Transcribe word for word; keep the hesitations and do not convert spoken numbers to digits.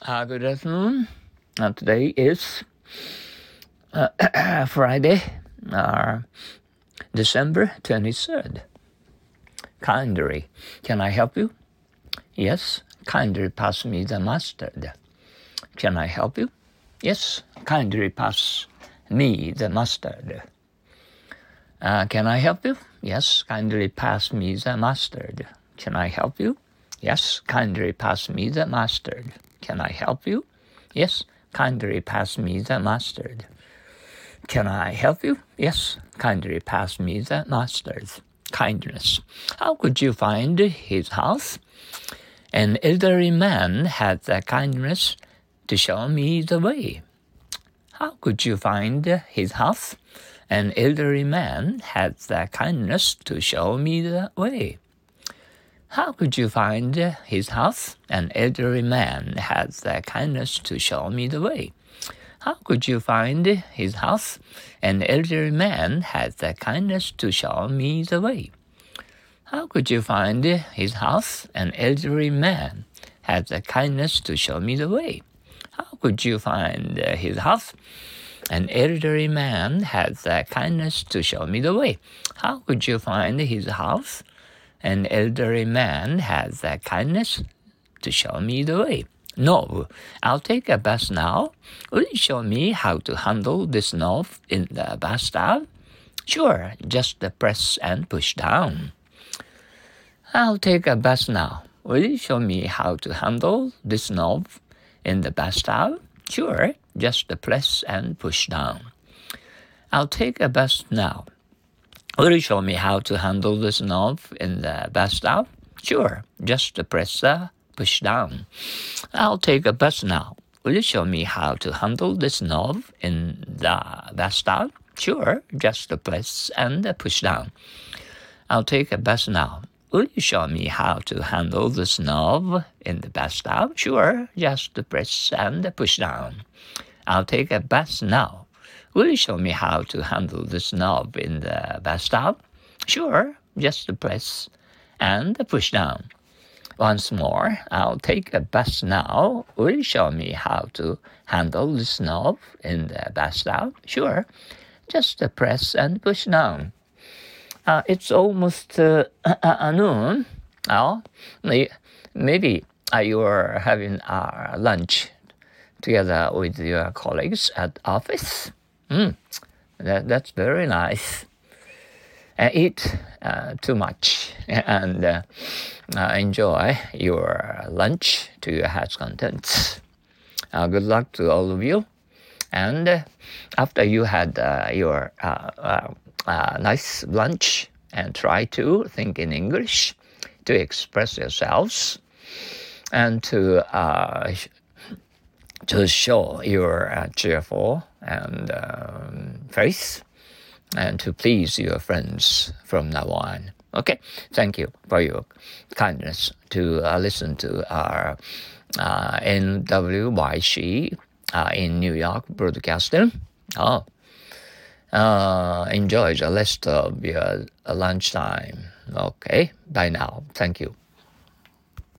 Uh, good afternoon. Uh, today is uh, Friday, uh, December twenty-third. Kindly, can I help you? Yes, kindly pass me the mustard. Can I help you? Yes, kindly pass me the mustard. Uh, can I help you? Yes, kindly pass me the mustard. Can I help you? Yes, kindly pass me the mustard. Can I help you? Yes, kindly pass me the mustard. Can I help you? Yes, kindly pass me the mustard. Kindness. How could you find his house? An elderly man had the kindness to show me the way. How could you find his house? An elderly man had the kindness to show me the way. How could you find his house? An elderly man had the kindness to show me the way. How could you find his house? An elderly man had the kindness to show me the way. How could you find his house? An elderly man had the kindness to show me the way. How could you find his house? An elderly man had the kindness to show me the way. How could you find his house? An elderly man had the kindness to show me the way. No, I'll take a bath now. Will you show me how to handle this knob in the bathtub? Sure, just press and push down. I'll take a bath now. Will you show me how to handle this knob in the bathtub? Sure, just press and push down. I'll take a bath now. Will you show me how to handle this knob in the bathtub? Sure, just press the push down. I'll take a bath now. Will you show me how to handle this knob in the bathtub? Sure, just press and push down. I'll take a bath now. Will you show me how to handle this knob in the bathtub? Sure, just press and push down. I'll take a bath now. Will you show me how to handle this knob in the bathtub? Sure, just press and push down. Once more, I'll take a bath now. Will you show me how to handle this knob in the bathtub? Sure, just press and push down. Uh, it's almost uh, uh, noon. Oh, maybe uh, you're having uh, lunch together with your colleagues at office. Mm, that, that's very nice. Uh, eat uh, too much and uh, uh, enjoy your lunch to your heart's contents. Uh, good luck to all of you. And uh, after you had uh, your uh, uh, uh, nice lunch, and try to think in English, to express yourselves, and to uh, to show your uh, cheerful and um, face, and to please your friends from now on. Okay, thank you for your kindness to uh, listen to our uh, N W Y C uh, in New York broadcasting. Oh, uh, enjoy the rest of your uh, lunchtime. Okay, bye now. Thank you.